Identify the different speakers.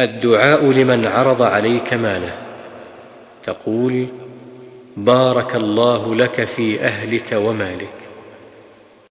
Speaker 1: الدعاء لمن عرض عليك ماله. تقول: بارك الله لك في أهلك ومالك.